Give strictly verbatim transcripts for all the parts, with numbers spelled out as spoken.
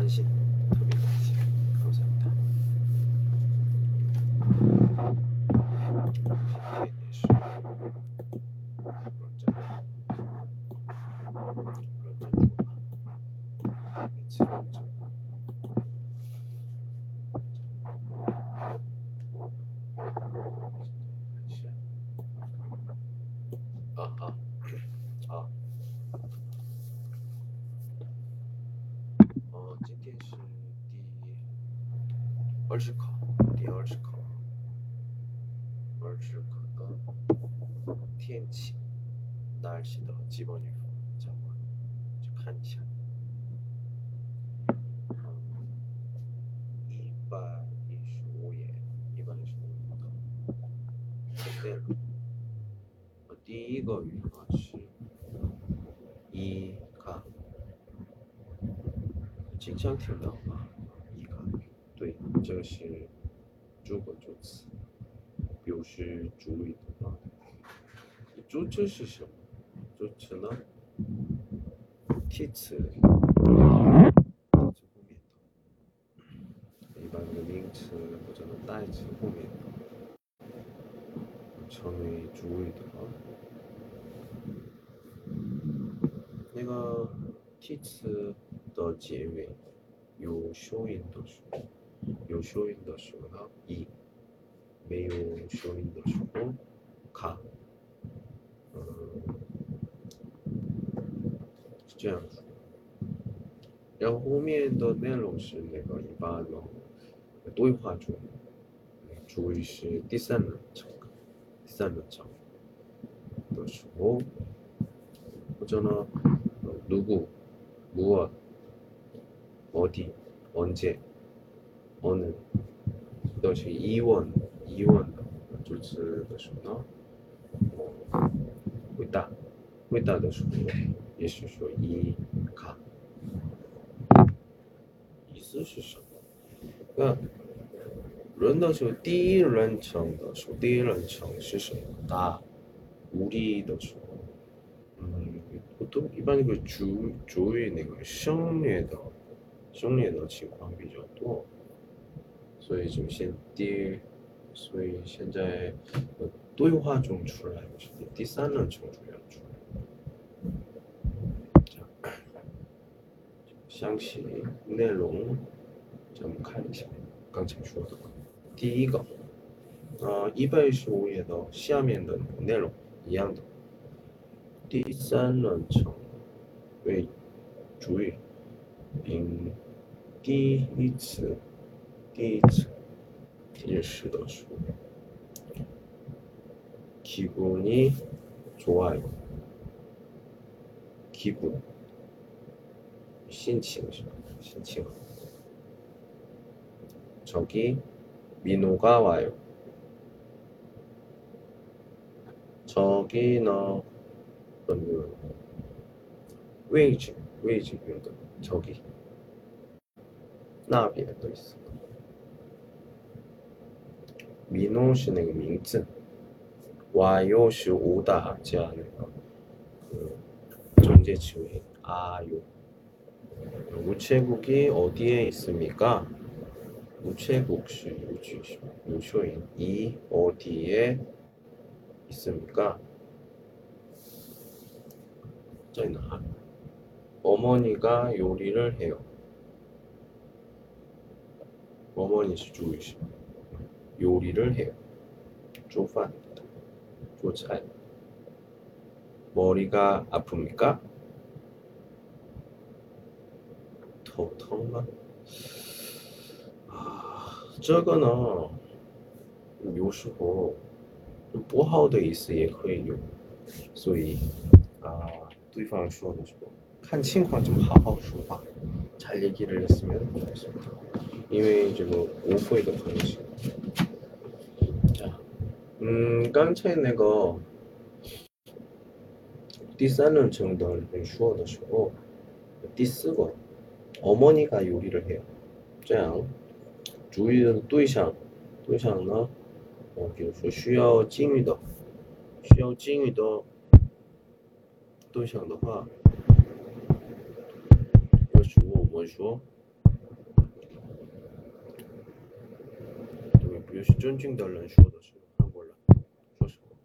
心，特别感谢，감사합니다。今天也是认真，认真说吧，每次认真。啊啊啊！哦，今天是第二十考，第二十考，二十考的天气、날씨的基本预报，잠깐去看一下。一百一十五页，一百一十五页的内容。第一个语法是一卡，经常听到吗？一卡，对，这个是主格助词，表示注意的啊。主词是什么？主词呢？替词，替词后面的，一般的名词或者代词后面的，成为主语的啊。那个替词的结尾有修音的时候，有修音的时候呢，一；没有修音的时候，卡。嗯，是这样子。然后后面的内容是那个一般的对话中，主语是第三人称，第三人称的时候，或者呢，누구、무엇、어디、언제、어느都是疑问、疑问的主词的时候呢，回答、回答的时候也是说一卡。意思是什么？那人的时候，第一人称的时候，第一人称是什么？나、우리的时候，嗯，不都一般那个主主语那个省略的省略的情况比较多，所以就先第，所以现在对话中出来的是第三人称出现出来。这样，详细内容咱们看一下刚才说的。第一个，呃，一百一十五页的下面的内容一样的。第三人称为主语，并第一次、第一次提示的时候，기분이 좋아요。기분，心情是吧？心情好。저기 민호가 와요。 저기는位置位置用的저기，那边的意思。민호是那个名字，와요是오다加那个그 정제词尾아요。 우체국이 어디에 있습니까? 우체국是有句是有说音，이 어디에 있습니까? 在哪？ 어머니가 요리를 해요。 어머니是主语是요리를 해요。 做饭做菜。 머리가 아픕니까? 头疼吗？啊，这个呢，有时候不好的意思也可以有，所以啊，对方说的时候看情况좀好好说话，잘 얘기를 했으면 좋겠습니다。因为这个误会的可能性。자，嗯，刚才那个第三人称的人说的时候，第四个어머니가 요리를 해요。 这样，主语的对象，对象呢，呃，比如说需要敬语的，需要敬语的对象的话，要是我们说表示尊敬的人说的是韩国人说什么？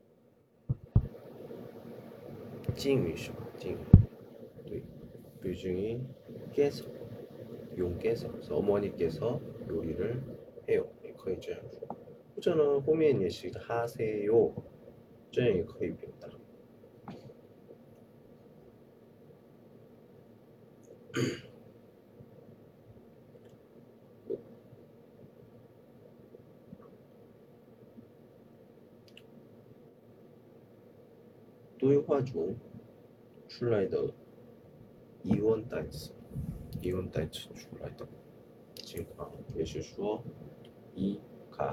敬语是吧？敬语。对，뷰중이께서 용께서 어머니께서 요리를 해요. 也可以这样说。或者呢，后面也是 하세요， 这样也可以表达。对话中出来的疑问单词，疑问单词出来的情况，也是说一卡。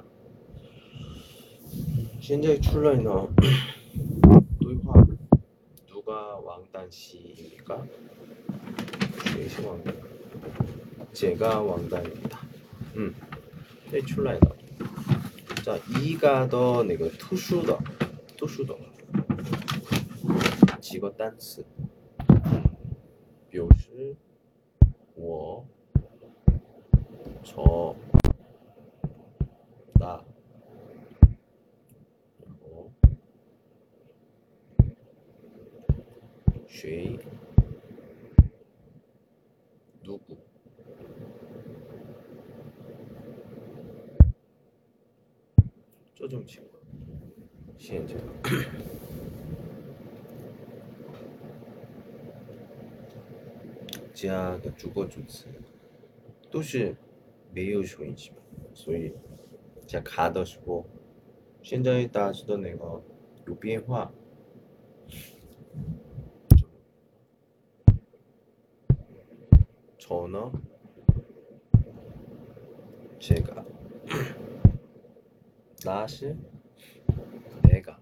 现在出来呢，对话누가 왕단씨입니까?谁是 왕단? 제가 왕단입니다. 음, 네, 출라이다. 자, 이가 더 내가 투슈더, 투슈더. 지거 단츠. 表示我저 나然后谁 누구 这种情况现在加的主过主词都是没有收音机嘛，所以在卡的时候，现在大致的那个有变化。저는 제가 나시 내가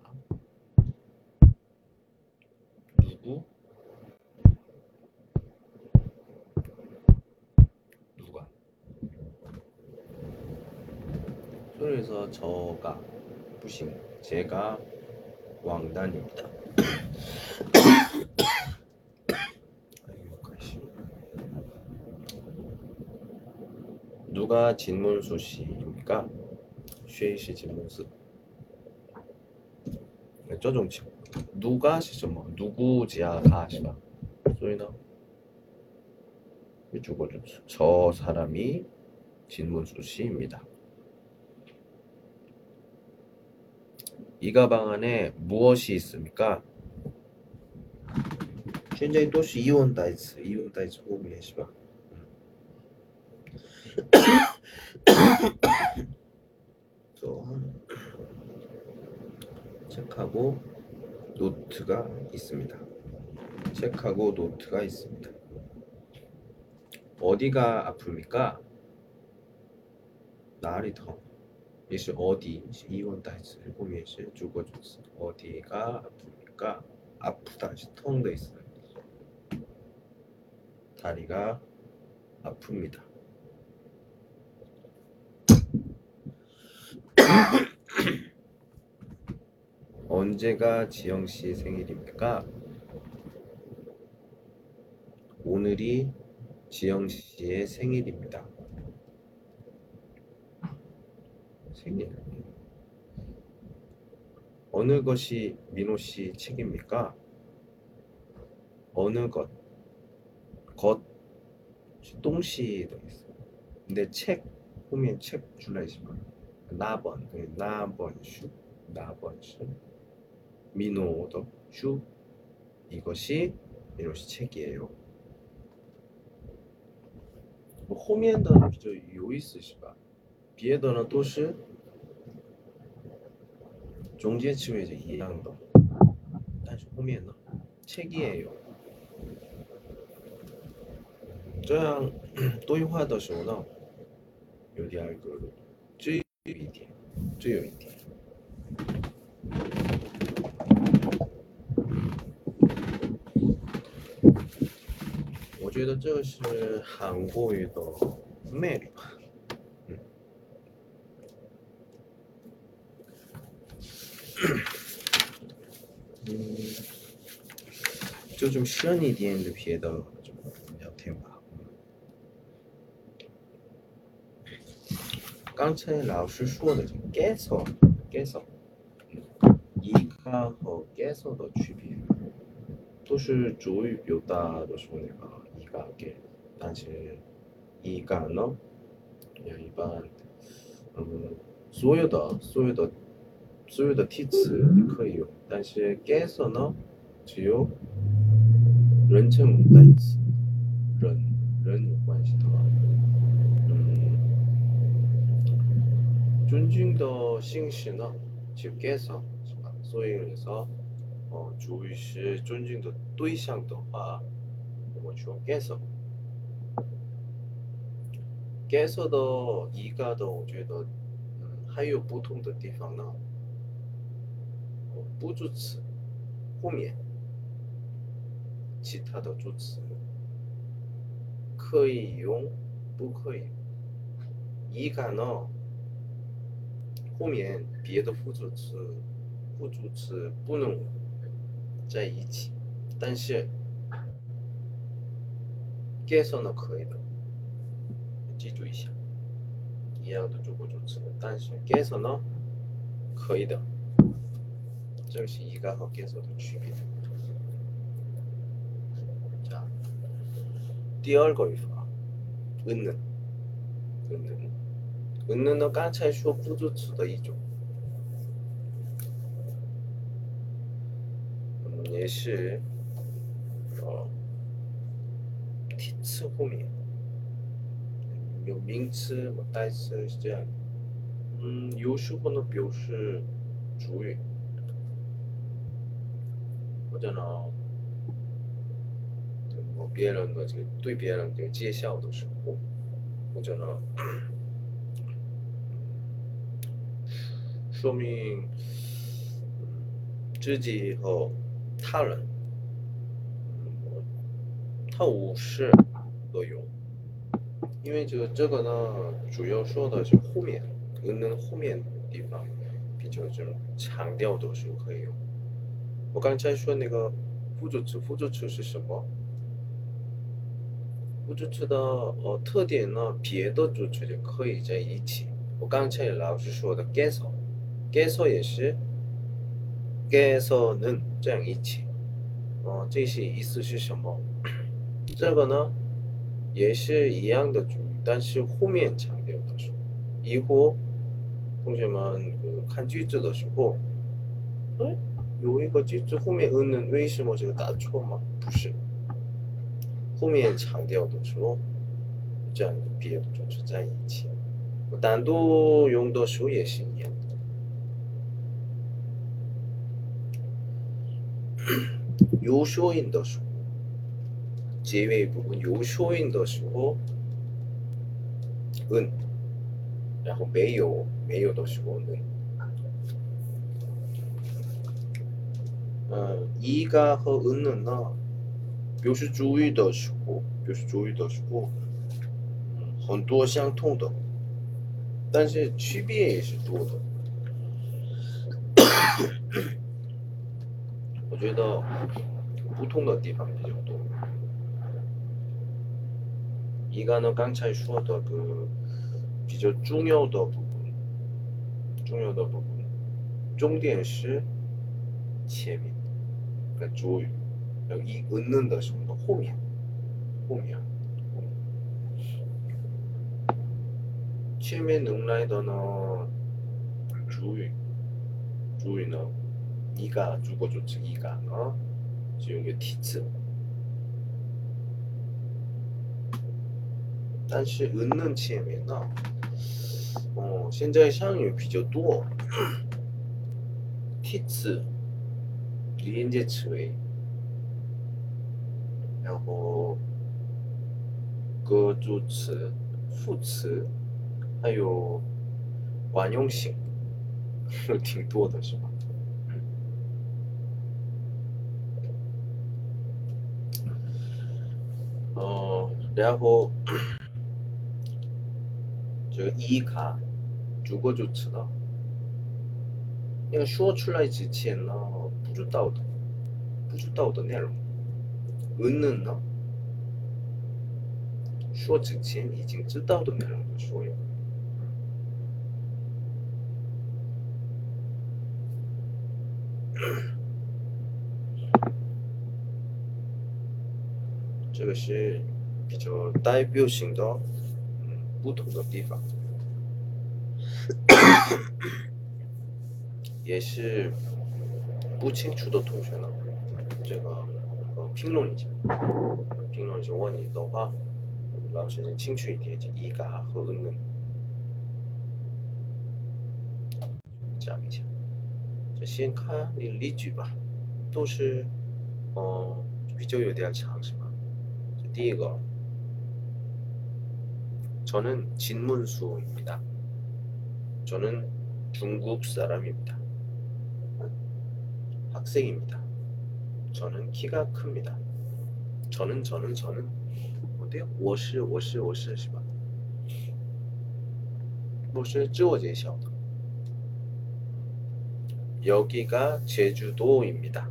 누구 누가 그래서 저가 부신 제가 왕단입니다. 누가 진문수 씨입니까? 谁是진문수? 这种情况 누가 是什么 누구지야가 是吧所以呢 주거주词 저 사람이 진문수 씨입니다. 이 가방 안에 무엇이 있습니까? 现在都是疑问代词疑问代词后面是吧 책하고 노트가 있습니다. 책하고 노트가 있습니다. 어디가 아픕니까? 나리 더. 也是 어디 是疑问代词后面是主过主词 어디가 아픕니까? 아프다 是痛的意思 다리가 아픕니다. 언제가 지영씨 생일입니까? 오늘이 지영씨의 생일입니다. 생일. 어느 것이 민호씨 책입니까? 어느 것. 것. 동시도 있어요. 근데 책, 보면 책 줄라있지만 나번, 나번슈, 나번슈. 민호도 슈. 이것이 민호씨 책이에요. 后面的比较有意思是吧别的呢都是中间词尾是一样的但是后面呢 책이에요 这样对话的时候呢有第二个只有一点只有一点我觉得这是韩国语的魅力吧嗯就这么深一点的别的聊天吧刚才老师说的这个 gesso gesso 一个和 gesso 的区别，都是主语表达的时候那个一个给，但是一个呢，也一般，嗯，所有的所有的所有的题词都可以用，但是 gesso 呢，只有人称代词，人人有关系的话，嗯，尊敬的姓氏呢，就 gesso 是吧？所以그래서 어, 주의是尊敬的对象的话，我们说 gesso。gesso 的一个的，我觉得，嗯，还有不同的地方呢。哦不助词后面其他的助词可以用，不可以。一个呢，后面别的辅助词、辅助词不能在一起，但是 gesso 呢可以的，记住一下，一样的助助词，但是 gesso 呢可以的，这是一个和 gesso 的区别。자第二个语法，은는， 은는， 은는呢刚才说辅助词的一种，嗯，也是，呃，题词后面有名词和代词是这样，嗯，有时候呢表示主语，或者呢，我别人的这个对别人这个介绍的时候，或者呢，说明自己和他人，嗯，他无视都有，因为这个这个呢，主要说的是后面，能后面地方比较这种强调的时候可以用。我刚才说那个辅助词，辅助词是什么？辅助词的呃特点呢，别的助词就可以在一起。我刚才老师说的 gesso，gesso 也是 geso는这样一起。哦，这些意思是什么？这个呢也是一样的主语，但是后面强调的是，以后同学们그看句子的时候，哎，有一个句子后面嗯为什么这个打错吗？不是，后面强调的时候，这样别的主词在一起，单独用的时候也是一样的。有说音的时候，结尾部分有说音的时候，嗯，然后没有没有的时候呢，嗯，一个和嗯呢，表示主语的时候，表示主语的时候，嗯，很多相同的，但是区别也是多的。我觉得不同的地方比较多。一个呢，刚才说的그比较重要的部分，重要的部分，重点是前面的主语，然后一嗯的时候的后面，后面，后面，前面能来的呢，主语，主语呢，一个主过主词一个呢，是用个题词。但是嗯前面呢，哦，现在上语比较多，题词、连接词尾，然后个助词、副词，还有惯用型，挺多的是吧？哦，然后这个一卡主过助词呢，那个说出来之前呢，不知道的，不知道的内容，嗯呢，说之前已经知道的内容就说呀。 这个是比较代表性的嗯不同的地方，也是不清楚的同学呢，这个呃评论一下，评论就问你的话，老师能清楚一点，就一嘎和嗯嗯讲一下。就先看你例句吧，都是嗯比较有点长是吧？就第一个， 저는 진문수입니다. 저는 중국 사람입니다. 학생입니다. 저는 키가 큽니다. 저는 저는 저는 어때요? 我是我是我是是吧? 我是自我介绍的. 여기가 제주도입니다.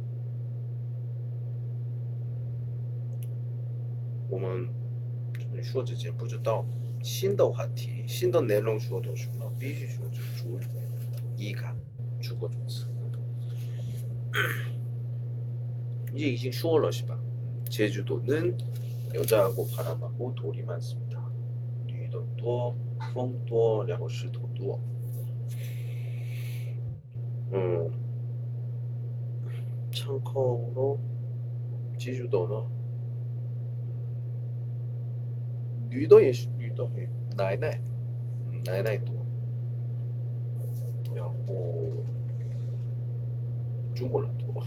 我们说之前不知道新的话题新的内容说的时候必须说就主语一嘎主过动词 이제 이제说了是吧? 제주도는 여자하고 바람하고 돌이 많습니다. 女的多风多然后石头多. 음, 참고로 제주도는 女的也是女的奶奶奶奶多然后中国人多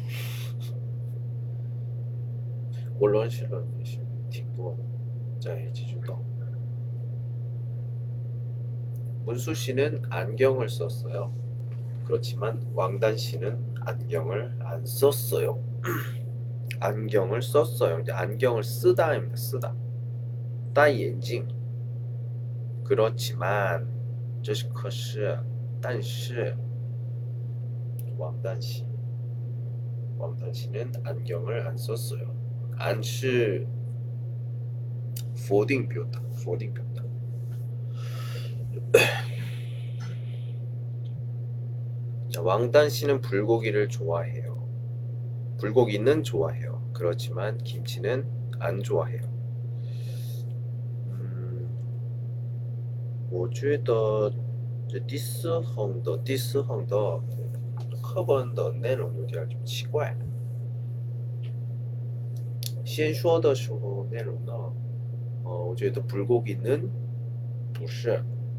我认识的也是挺多的在제주도. 문수 씨는 안경을 썼어요. 그렇지만 왕단 씨는 안경을 안 썼어요. 안경을 썼어요. 이제 안경을 쓰다입니다. 쓰다. 戴眼镜 그렇지만 这是可是但是 왕단 씨 왕단 씨는 안경을 안 썼어요. 안是否定表达否定表达 자, 왕단 씨는 불고기를 좋아해요. 불고기는 좋아해요. 그렇지만 김치는 안 좋아해요. 음, 我觉得这第四行的第四行的课本的内容有点奇怪。先说的时候内容呢，呃，我觉得 불고기는 不是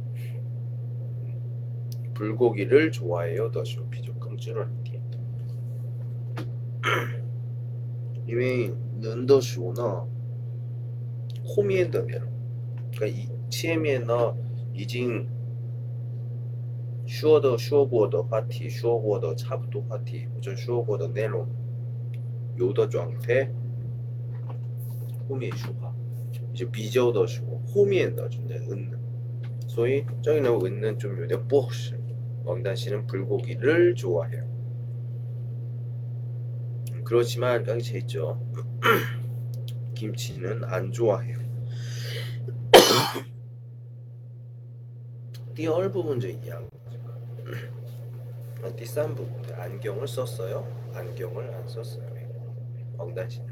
불고기를 좋아해요 的时候比较更自然一点。因为人的时候呢，后面的内容跟前面呢已经说的说过的话题说过的差不多话题或者说过的内容有的状态后面说话就比较的时候后面的좀 은는所以저기는 은는 좀有点不合适 왕단 씨는 불고기를 좋아해요. 그렇지만 여기 제 있죠. 김치는 안 좋아해요. 第二部分就一样.第三部分 안경을 썼어요. 안경을 안 썼어요. 왕단 씨는.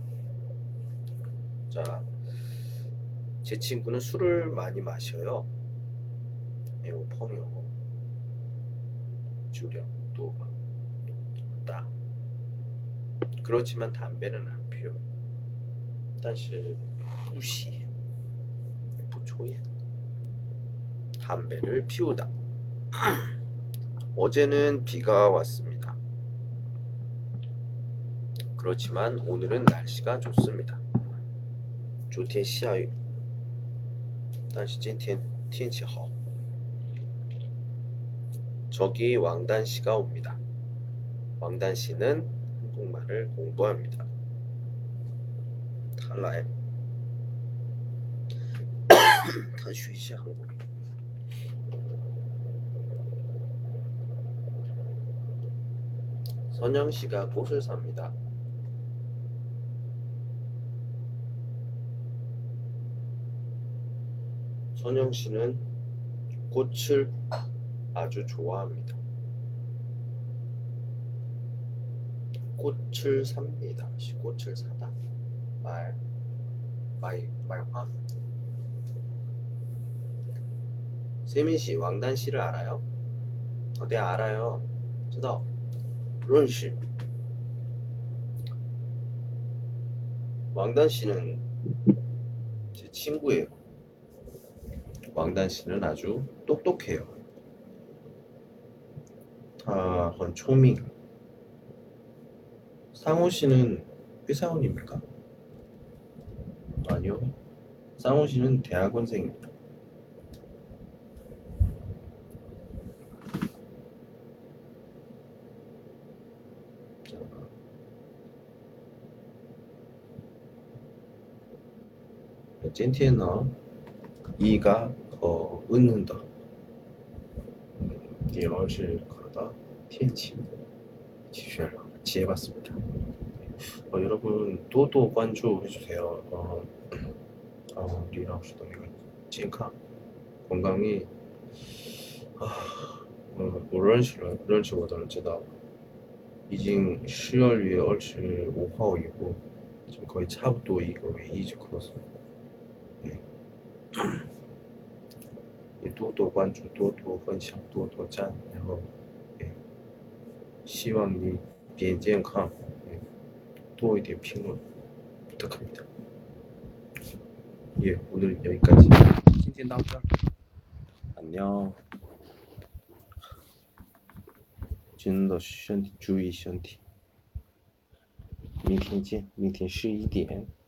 자, 제 친구는 술을 많이 마셔요. 이거 펑이요. 주량 또 다. 그렇지만 담배는 안 피워요. 但是不吸不抽烟 담배를 피우다. 어제는 비가 왔습니다. 그렇지만 오늘은 날씨가 좋습니다. 昨天下雨但是今天天气好 저기 왕단 씨가 옵니다. 왕단 씨는 한국말을 공부합니다. 他来他学一下韩国语 선영 씨가 꽃을 삽니다. 선영 씨는 꽃을 아주 좋아합니다. 꽃을 삽니다. 꽃을 사다. 말, 말, 말화. 세민 씨, 왕단 씨를 알아요? 어, 네, 알아요. 知道认识 왕단 씨는 제 친구예요. 왕단 씨는 아주 똑똑해요. 他很聪明. 상호 씨는 회사원입니까? 아니요. 상호 씨는 대학원생입니다. 자, 今天呢 이가 더 웃는다. 음, 第二是考的天气 지혜봤습니다. 어, 여러분 또또 관注해주세요. 어, 어, 우리 라오스도 이거健康 건강이 아, 어, 我认识了认识我的人知道已经十二月二十五号以后就거의差不多一个月一直咳嗽 也多多关注多多分享多多赞然后希望你变健康多一点评论 부탁합니다. 예, 오늘 여기까지. 今天到这儿. 안녕. 真的身体注意身体。明天见，明天十一点。